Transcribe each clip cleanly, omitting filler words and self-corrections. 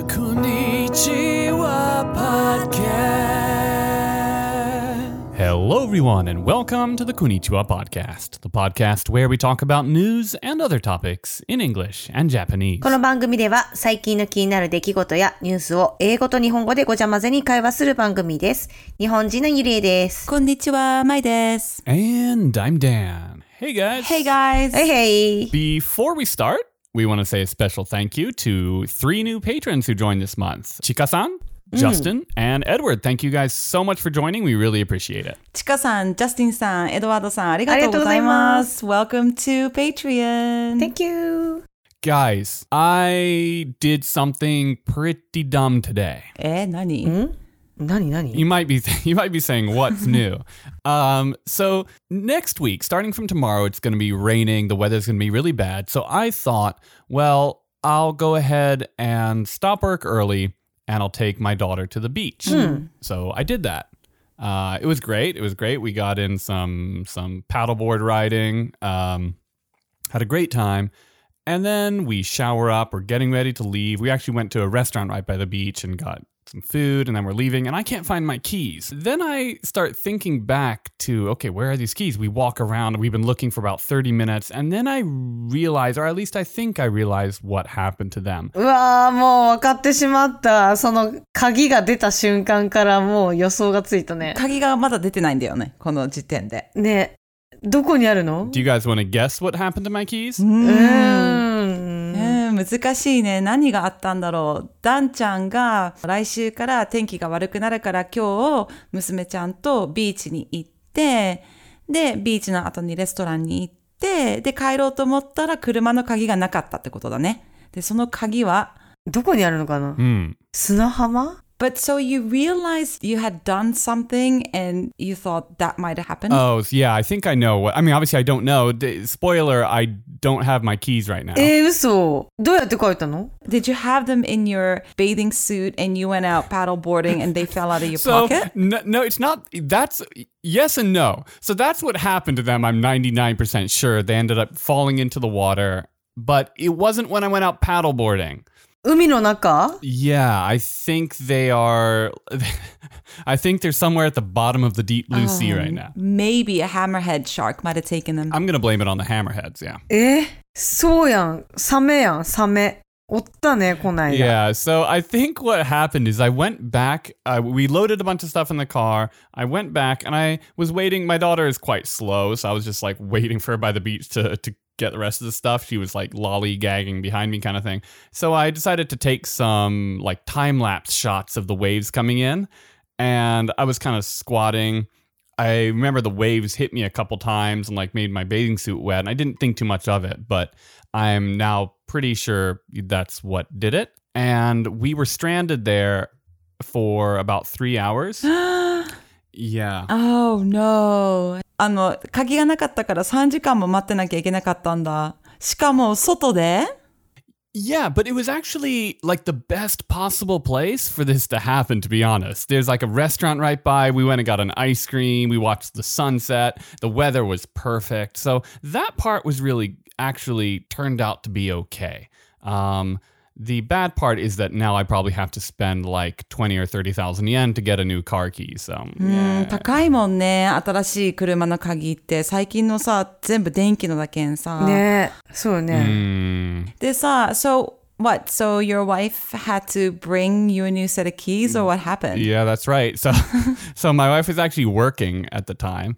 Konnichiwa Podcast. Hello, everyone, and welcome to the Konnichiwa Podcast, the podcast where we talk about news and other topics in English and Japanese. この番組では最近の気になる出来事やニュースを英語と日本語でごちゃ混ぜに会話する番組です。日本人のゆりえです。 こんにちは、まいです。 And I'm Dan. Hey, guys. Hey, guys. Hey, hey. Before we start, we want to say a special thank you to 3 new patrons who joined this month. Chika-san, Justin, and Edward. Thank you guys so much for joining. We really appreciate it. ちかさん、ジャスティンさん、エドワードさん、ありがとうございます。Welcome to Patreon. Thank you. Guys, I did something pretty dumb today. 何？ 何 You might be saying, what's new? So next week, starting from tomorrow, it's going to be raining. The weather's going to be really bad. So I thought, well, I'll go ahead and stop work early and I'll take my daughter to the beach. So I did that. It was great. We got in some paddleboard riding, had a great time. And then we shower up. We're getting ready to leave. We actually went to a restaurant right by the beach and got some food, and then we're leaving, and I can't find my keys. Then I start thinking back to, okay, where are these keys? We walk around, and we've been looking for about 30 minutes, and then I realize, or at least I think I realized what happened to them. うわー、もう分かってしまった。その鍵が出た瞬間からもう予想がついたね。 鍵がまだ出てないんだよね、この時点で。 ね、どこにあるの？ Do you guys want to guess what happened to my keys? 難しいね。何があったんだろう。ダンちゃんが来週から天気が悪くなるから今日娘ちゃんとビーチに行って、でビーチの後にレストランに行って、で帰ろうと思ったら車の鍵がなかったってことだね。でその鍵はどこにあるのかな？砂浜 ？But so you realized you had done something and you thought that might have happened? Oh, yeah, I think I know. Obviously I don't know. Spoiler, I don't have my keys right now. 嘘。どうやって書いたの？ Did you have them in your bathing suit and you went out paddleboarding and they fell out of your pocket? No, it's not. That's yes and no. So that's what happened to them. I'm 99% sure. They ended up falling into the water, but it wasn't when I went out paddleboarding. 海の中？ Yeah, I think they are. I think they're somewhere at the bottom of the deep blue sea right now. Maybe a hammerhead shark might have taken them. I'm gonna blame it on the hammerheads, yeah. そうやん。サメやん、サメ。おったね、こないだ。 Yeah, so I think what happened is I went back, we loaded a bunch of stuff in the car, I went back and I was waiting, my daughter is quite slow, so I was just like waiting for her by the beach to get the rest of the stuff. She was like lollygagging behind me kind of thing. So I decided to take some like time-lapse shots of the waves coming in, and I was kind of squatting. I remember the waves hit me a couple times and like made my bathing suit wet, and I didn't think too much of it, but I'm now pretty sure that's what did it. And we were stranded there for about 3 hours. Yeah. Oh no. 鍵がなかったから3時間も待ってなきゃいけなかったんだ。しかも外で Yeah, but it was actually like the best possible place for this to happen, to be honest. There's like a restaurant right by. We went and got an ice cream. We watched the sunset. The weather was perfect. So that part was really actually turned out to be okay. The bad part is that now I probably have to spend like 20 or 30,000 yen to get a new car key. So, yeah. 高いもんね。新しい車の鍵って最近のさ、全部電気のだけんさ。 ね、そうね。 でさ、so what? So your wife had to bring you a new set of keys or what happened? Yeah, that's right. So my wife was actually working at the time.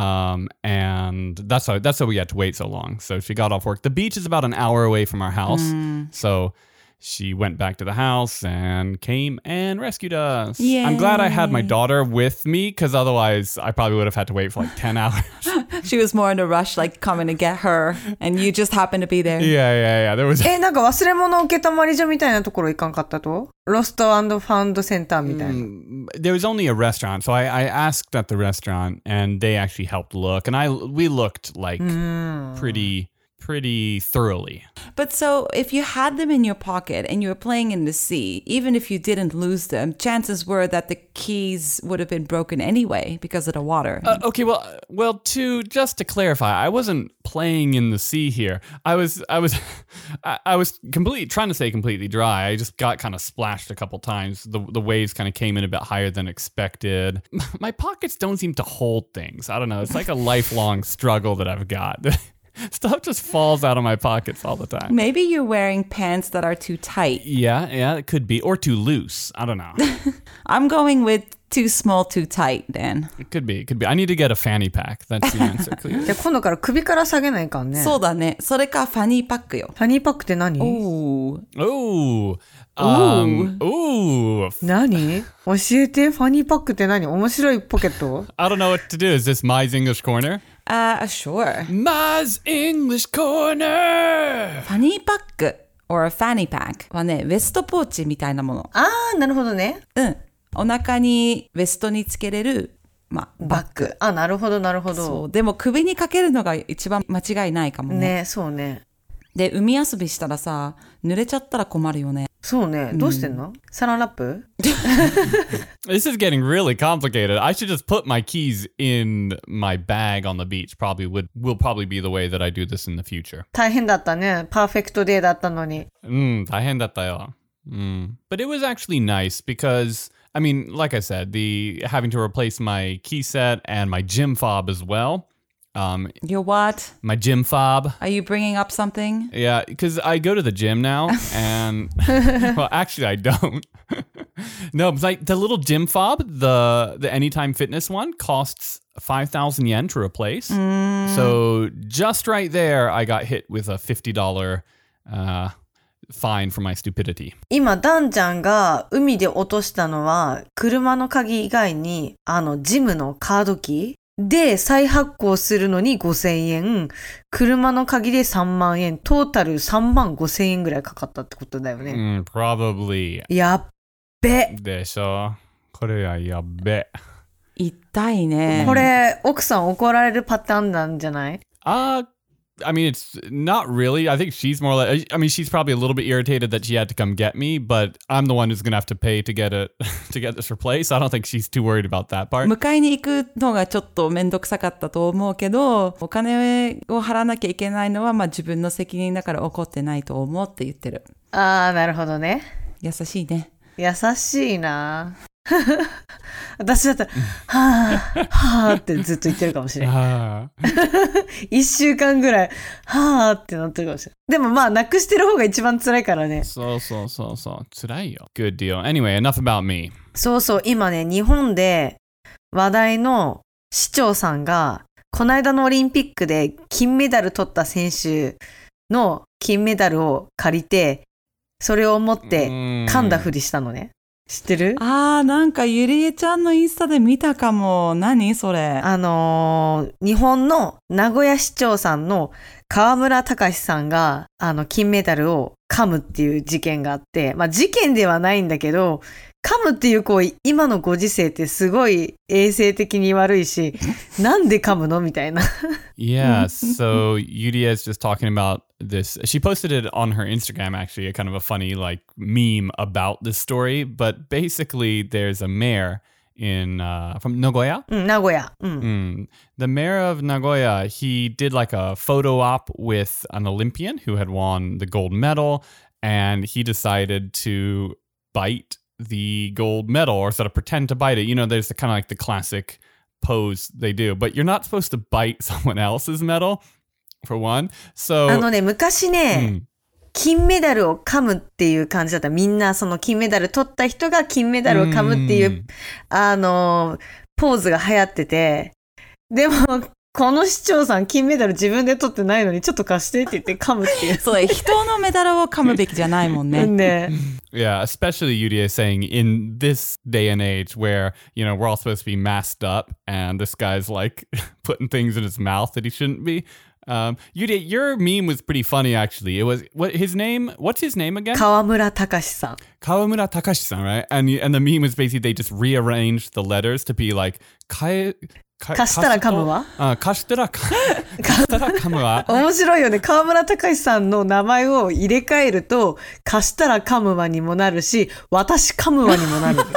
And that's why we had to wait so long. So she got off work. The beach is about an hour away from our house. So she went back to the house and came and rescued us. Yay. I'm glad I had my daughter with me because otherwise I probably would have had to wait for like 10 hours. She was more in a rush, like coming to get her, and you just happened to be there. Yeah. There was. なんか忘れ物受けたまり所みたいなところ行かんかったと？ロスト&ファウンドセンターみたいな。 There was only a restaurant, so I asked at the restaurant, and they actually helped look, and we looked like pretty thoroughly. But so if you had them in your pocket and you were playing in the sea, even if you didn't lose them, chances were that the keys would have been broken anyway because of the water. Okay, just to clarify, I wasn't playing in the sea here. I was trying to stay completely dry. I just got kind of splashed a couple times. The waves kind of came in a bit higher than expected. My pockets don't seem to hold things. I don't know. It's like a lifelong struggle that I've got. Stuff just falls out of my pockets all the time. Maybe you're wearing pants that are too tight. Yeah, it could be. Or too loose. I don't know. I'm going with too small, too tight, then. It could be. I need to get a fanny pack. That's the answer, clearly. で、今度から首から下げないかんね。 そうだね。それかファニーパックよ。 ファニーパックって何？ Ooh. Ooh. Ooh. 何？教えて。ファニーパックって何？面白いポケット？ I don't know what to do. Is this Mai's English Corner? Sure. Mai's English Corner! ファニーパック or a fanny pack はね、ウエストポーチみたいなもの。 あー、なるほどね。 うん。お腹にウエストにつけれる、バッグ。 あ、なるほど、なるほど。 そう。でも首にかけるのが一番間違いないかもね。 ね、そうね。 で、海遊びしたらさ、濡れちゃったら困るよね。 そうね。どうしてんの？サランラップ？ This is getting really complicated. I should just put my keys in my bag on the beach. Will probably be the way that I do this in the future. 大変だったね。パーフェクトデーだったのに。 大変だったよ。But it was actually nice because, I mean, like I said, having to replace my key set and my gym fob as well. Your what? My gym fob. Are you bringing up something? Yeah, because I go to the gym now, and well, actually, I don't. No, but like the little gym fob, the Anytime Fitness one, costs 5,000 yen to replace. So just right there, I got hit with a $50 fine for my stupidity. 今、ダンちゃんが海で落としたのは、車の鍵以外に、ジムのカードキーで再発行するのに5000円、車の鍵で3万円、トータル3万5000円ぐらいかかったってことだよね。 Probably. やっべ。 でしょ。これはやっべ。 痛いね。 これ、奥さん怒られるパターンなんじゃない？ I mean, it's not really. I think she's more like, I mean, she's probably a little bit irritated that she had to come get me, but I'm the one who's going to have to pay to get this replaced. I don't think she's too worried about that part. 迎えに行くのがちょっとめんどくさかったと思うけど、お金を払わなきゃいけないのは自分の責任だから怒ってないと思うって言ってる。 あー、なるほどね。 優しいね。 優しいな。私だったら、はぁ、はぁってずっと言ってるかもしれない。1週間ぐらい、はぁってなってるかもしれない。でもなくしてる方が一番辛いからね。 そう。辛いよ。Good deal. Anyway, enough about me. そう、今ね、日本で話題の市長さんが、この間のオリンピックで金メダル取った選手の金メダルを借りて、それを持って噛んだふりしたのね。知ってる？ なんかゆりえちゃんのインスタで見たかも。何それ？ 日本の名古屋市長さんの河村隆さんが金メダルを噛むっていう事件があって、事件ではないんだけど、噛むっていう行為、今のご時世ってすごい衛生的に悪いし、なんで噛むのみたいな。 Yeah, so Yuria is just talking about this. She posted it on her Instagram, actually, a kind of a funny like meme about this story. But basically, there's a mayor from Nagoya. 名古屋。 The mayor of Nagoya, he did like a photo op with an Olympian who had won the gold medal, and he decided to bite the gold medal or sort of pretend to bite it. You know, there's the kind of like the classic pose they do, but you're not supposed to bite someone else's medal, for one. So 昔ね、金メダルを噛むっていう感じだった。みんなその金メダル取った人が金メダルを噛むっていう、ポーズが流行ってて、でも、この市長さん金メダル自分で取ってないのにちょっと貸してって言って噛むっていう。 そう、人のメダルを噛むべきじゃないもんね。 ね。 Yeah, especially Yuria saying in this day and age where, you know, we're all supposed to be masked up and this guy's like putting things in his mouth that he shouldn't be. Yuria, your meme was pretty funny actually. It was, what's his name again? 河村隆さん。 河村隆さん, right? And the meme was basically they just rearranged the letters to be like 貸したら噛むわ。 貸したら噛むわ。 面白いよね。河村隆さんの名前を入れ替えると、貸したら噛むわにもなるし、私噛むわにもなる。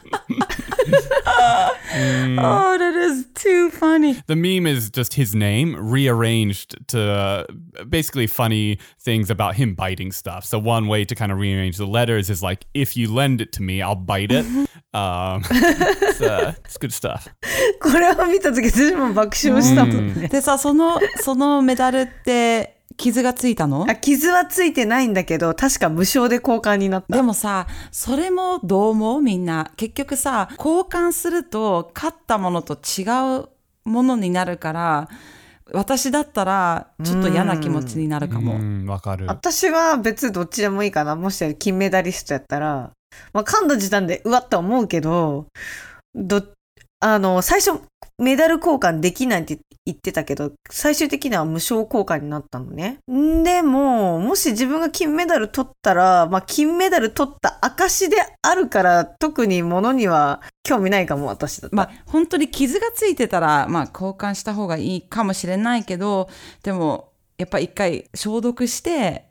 Oh, that is too funny. The meme is just his name rearranged to basically funny things about him biting stuff. So one way to kind of rearrange the letters is like, if you lend it to me, I'll bite it. It's good stuff. これを見たとき私も爆笑したもんね。 でさ、そのメダルって傷がついたの？ 傷はついてないんだけど、確か無償で交換になった。 でもさ、それもどう思う？みんな。結局さ、交換すると勝ったものと違うものになるから、私だったらちょっと嫌な気持ちになるかも。 わかる。 私は別にどっちでもいいかな。もし金メダリストやったら、まあ、噛んだ時点でうわっと思うけど、最初メダル交換できないって言ってたけど、最終的には無償交換になったのね。でも、もし自分が金メダル取ったら、まあ、金メダル取った証であるから、特に物には興味ないかも、私だったら。 まあ、本当に傷がついてたら、まあ、交換した方がいいかもしれないけど、でも、やっぱ一回消毒して、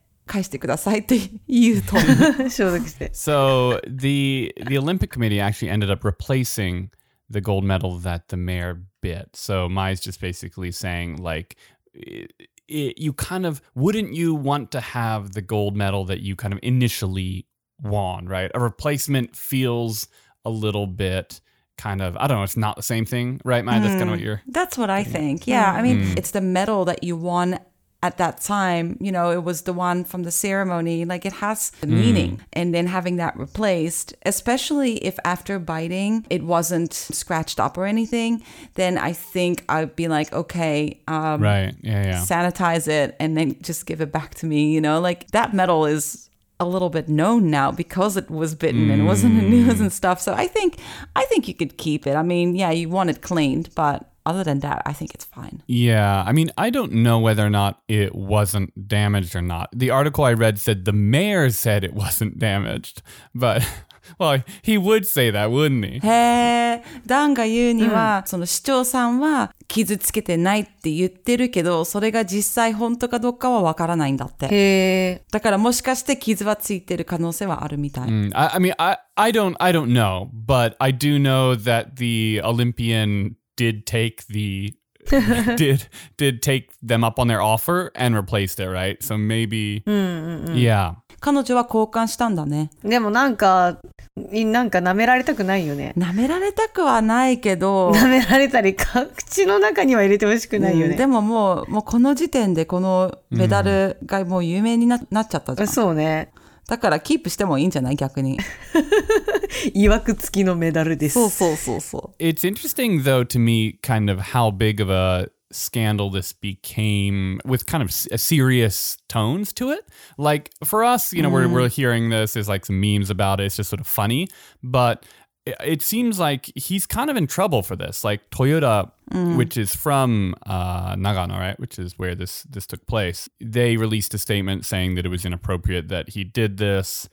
返してくださいって言うと消毒して。 So, the Olympic Committee actually ended up replacing the gold medal that the mayor bit. So Mai's just basically saying, like, you kind of, wouldn't you want to have the gold medal that you kind of initially won, right? A replacement feels a little bit kind of, I don't know, it's not the same thing, right, Mai? That's kind of what you're... That's what I think. Yeah, I mean, it's the medal that you won at that time, you know, it was the one from the ceremony, like it has a meaning. And then having that replaced, especially if after biting, it wasn't scratched up or anything, then I think I'd be like, okay, right. Yeah. sanitize it and then just give it back to me, you know, like that medal is a little bit known now because it was bitten and it wasn't in the news and stuff. So I think you could keep it. I mean, yeah, you want it cleaned, but other than that, I think it's fine. Yeah, I mean, I don't know whether or not it wasn't damaged or not. The article I read said the mayor said it wasn't damaged, but... Well, he would say that, wouldn't he? へー、ダンが言うには、その市長さんは傷つけてないって言ってるけど、それが実際本当かどうかはわからないんだって。 へー。 だからもしかして傷はついてる可能性はあるみたい。 I mean, I don't know, but I do know that the Olympian did take did take them up on their offer and replaced it, right? So maybe, yeah. 彼女は交換したんだね。 でもなんか舐められたくないよね。 舐められたくはないけど。 舐められたり、口の中には入れてほしくないよね。 でももうこの時点でこのメダルがもう有名になっちゃったじゃん。 そうね。 だからキープしてもいいんじゃない逆に。 いわくつきのメダルです。 そう。 It's interesting though to me kind of how big of a scandal this became with kind of serious tones to it. Like for us, you know, we're hearing this, there's like some memes about it, it's just sort of funny, but it seems like he's kind of in trouble for this. Like Toyota, which is from Nagano, right, which is where this took place, they released a statement saying that it was inappropriate that he did this.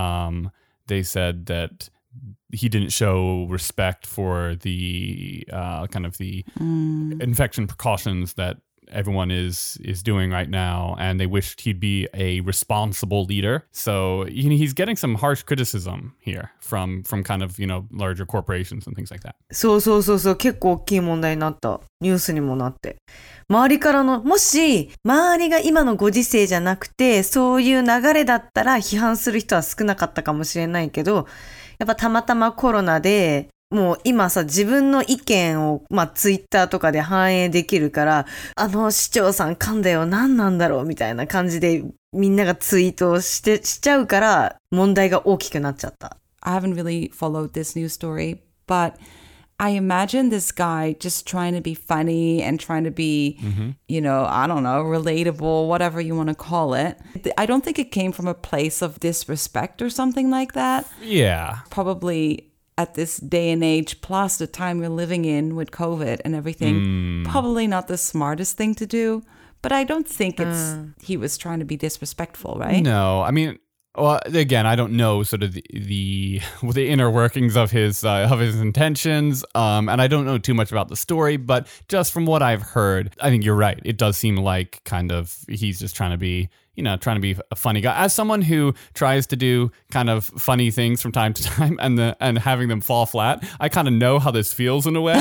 They said that he didn't show respect for the kind of the infection precautions that everyone is doing right now, and they wished he'd be a responsible leader. So he's getting some harsh criticism here from kind of, you know, larger corporations and things like that. そう結構大きい問題になった。ニュースにもなって。周りからの、もし周りが今のご時世じゃなくてそういう流れだったら批判する人は少なかったかもしれないけど、やっぱたまたまコロナでもう今さ、自分の意見をツイッターとかで反映できるから、市長さん噛んだよ、何なんだろうみたいな感じでみんながツイートしちゃうから問題が大きくなっちゃった。 I haven't really followed this news story, but I imagine this guy just trying to be funny and trying to be, you know, I don't know, relatable, whatever you want to call it. I don't think it came from a place of disrespect or something like that. Yeah. Probably at this day and age, plus the time we're living in with COVID and everything, probably not the smartest thing to do. But I don't think he was trying to be disrespectful, right? No, I mean, Well, again, I don't know sort of the inner workings of his intentions, and I don't know too much about the story. But just from what I've heard, I think you're right. It does seem like kind of he's just trying to be a funny guy. As someone who tries to do kind of funny things from time to time and having them fall flat, I kind of know how this feels in a way.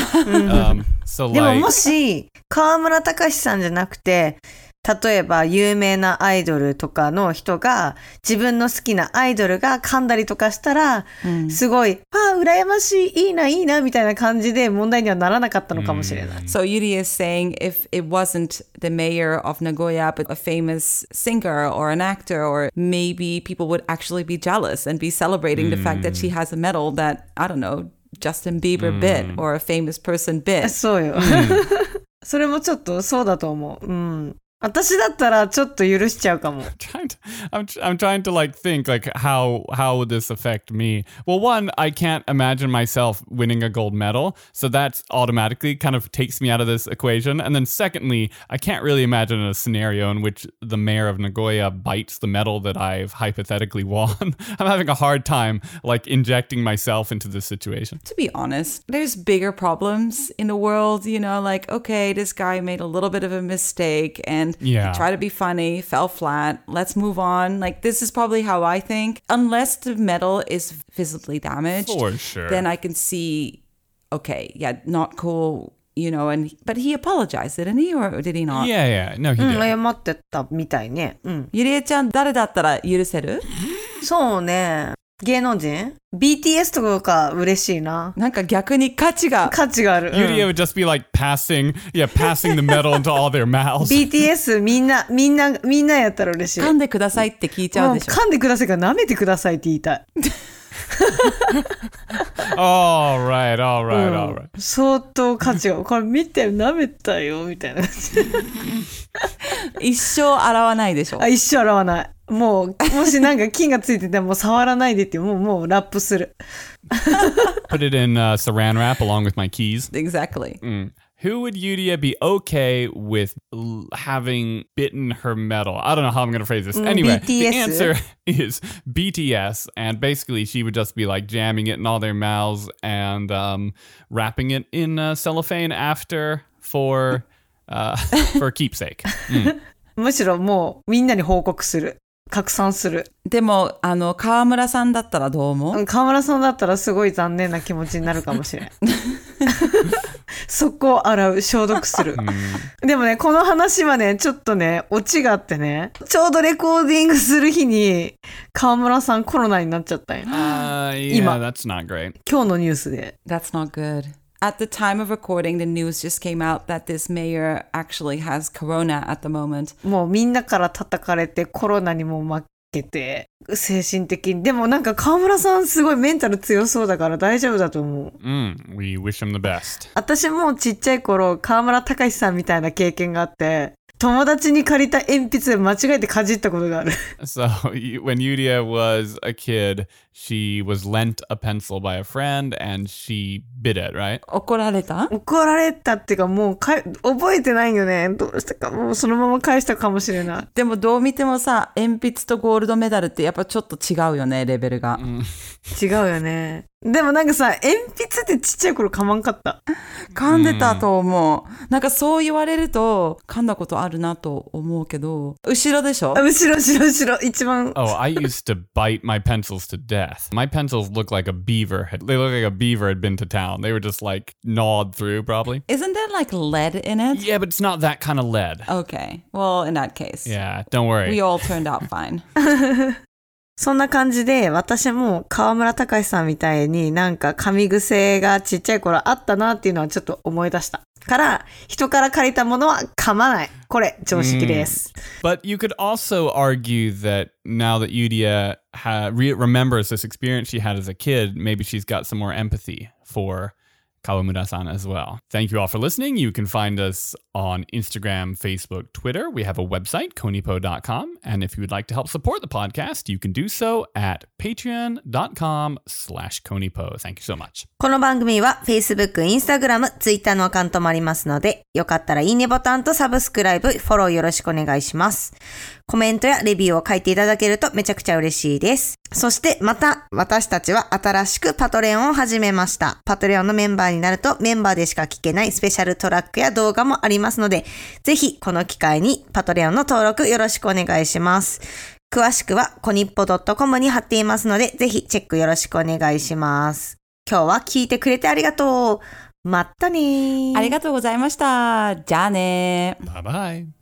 So でも like, もし、河村隆さんじゃなくて、例えば有名なアイドルとかの人が自分の好きなアイドルが噛んだりとかしたら、すごい、羨ましい、いいな、いいな、みたいな感じで問題にはならなかったのかもしれない。 So Yuri is saying if it wasn't the mayor of Nagoya, but a famous singer or an actor, or maybe people would actually be jealous and be celebrating the fact that she has a medal that, I don't know, Justin Bieber bit or a famous person bit. そうよ。それもちょっとそうだと思う。うん。私だったらちょっと許しちゃうかも。 I'm trying to like think like how would this affect me? Well, one, I can't imagine myself winning a gold medal, so that's automatically kind of takes me out of this equation. And then secondly, I can't really imagine a scenario in which the mayor of Nagoya bites the medal that I've hypothetically won. I'm having a hard time like injecting myself into this situation. To be honest, there's bigger problems in the world, you know, like, okay, this guy made a little bit of a mistake and try to be funny, fell flat, let's move on. Like, this is probably how I think. Unless the medal is visibly damaged, For sure. then I can see, okay, yeah, not cool, you know, but he apologized, didn't he? Or did he not? Yeah. No, he うん、 did. 謝ってたみたいね。うん。 ゆりえちゃん、誰だったら許せる？ そうね。芸能人 ?BTS とか嬉しいな。 なんか逆に価値が。 価値がある。 Yuria would just be like passing the medal into all their mouths. BTS みんなやったら嬉しい。 噛んでくださいって聞いちゃうでしょ。 噛んでくださいから舐めてくださいって言いたい。 all right. 相当価値が。これ見て舐めたよみたいな感じ。 一生洗わないでしょ。 一生洗わない。もう、もしなんか菌がついてても触らないでってもうラップする。 Put it in saran wrap along with my keys. Exactly. Who would Yuria be okay with having bitten her medal? I don't know how I'm going to phrase this. Anyway, BTS. the answer is BTS. And basically, she would just be like jamming it in all their mouths and wrapping it in cellophane after for keepsake. むしろもうみんなに報告する。拡散する。 でも、川村さんだったらどう思う？ 川村さんだったらすごい残念な気持ちになるかもしれん。速攻洗う、消毒する。でもね、この話はね、ちょっとね、オチがあってね、ちょうどレコーディングする日に、川村さんコロナになっちゃったんよ。 Yeah, that's not great. 今日のニュースで。 That's not good. At the time of recording, the news just came out that this mayor actually has corona at the moment. もうみんなから叩かれてコロナにも負けて精神的に。でもなんか川村さんすごいメンタル強そうだから大丈夫だと思う。 We wish him the best. 私もちっちゃい頃川村隆さんみたいな経験があって、友達に借りた鉛筆で間違えてかじったことがある。 So when Yuria was a kid, she was lent a pencil by a friend and she bit it, right? 怒られたっていうかもう覚えてないよね。どうしたかもうそのまま返したかもしれない。 でもどう見てもさ、鉛筆とゴールドメダルってやっぱちょっと違うよね、レベルが。 違うよね。でもなんかさ、鉛筆ってちっちゃい頃噛まんかった。 噛んでたと思う。なんかそう言われると噛んだことあるなと思うけど、後ろでしょ？ 後ろ、一番。 Oh, I used to bite my pencils to death. My pencils look like a beaver. They look like a beaver had been to town. They were just like gnawed through probably. Isn't there like lead in it? Yeah, but it's not that kind of lead. Okay. Well, in that case. Yeah, don't worry. We all turned out fine. そんな感じで、私も川村隆さんみたいになんか噛み癖がちっちゃい頃あったなっていうのはちょっと思い出した。から、人から借りたものは噛まない。これ、常識です。 But you could also argue that now that Yuria remembers this experience she had as a kid, maybe she's got some more empathy for Kawamura-san as well. Thank you all for listening. You can find us on Instagram, Facebook, Twitter. We have a website, konipo.com. And if you would like to help support the podcast, you can do so at patreon.com/konipo. Thank you so much. この番組は Facebook、Instagram、Twitter のアカウントもありますので、よかったらいいねボタンとサブスクライブ、フォローよろしくお願いします。コメントやレビューを書いていただけるとめちゃくちゃ嬉しいです。そしてまた私たちは新しくパトレオンを始めました。パトレオンのメンバーになるとメンバーでしか聞けないスペシャルトラックや動画もありますので、ぜひこの機会にパトレオンの登録よろしくお願いします。詳しくはコニッポ .com に貼っていますので、ぜひチェックよろしくお願いします。今日は聞いてくれてありがとう。またね。 ありがとうございました。じゃあね。 Bye bye.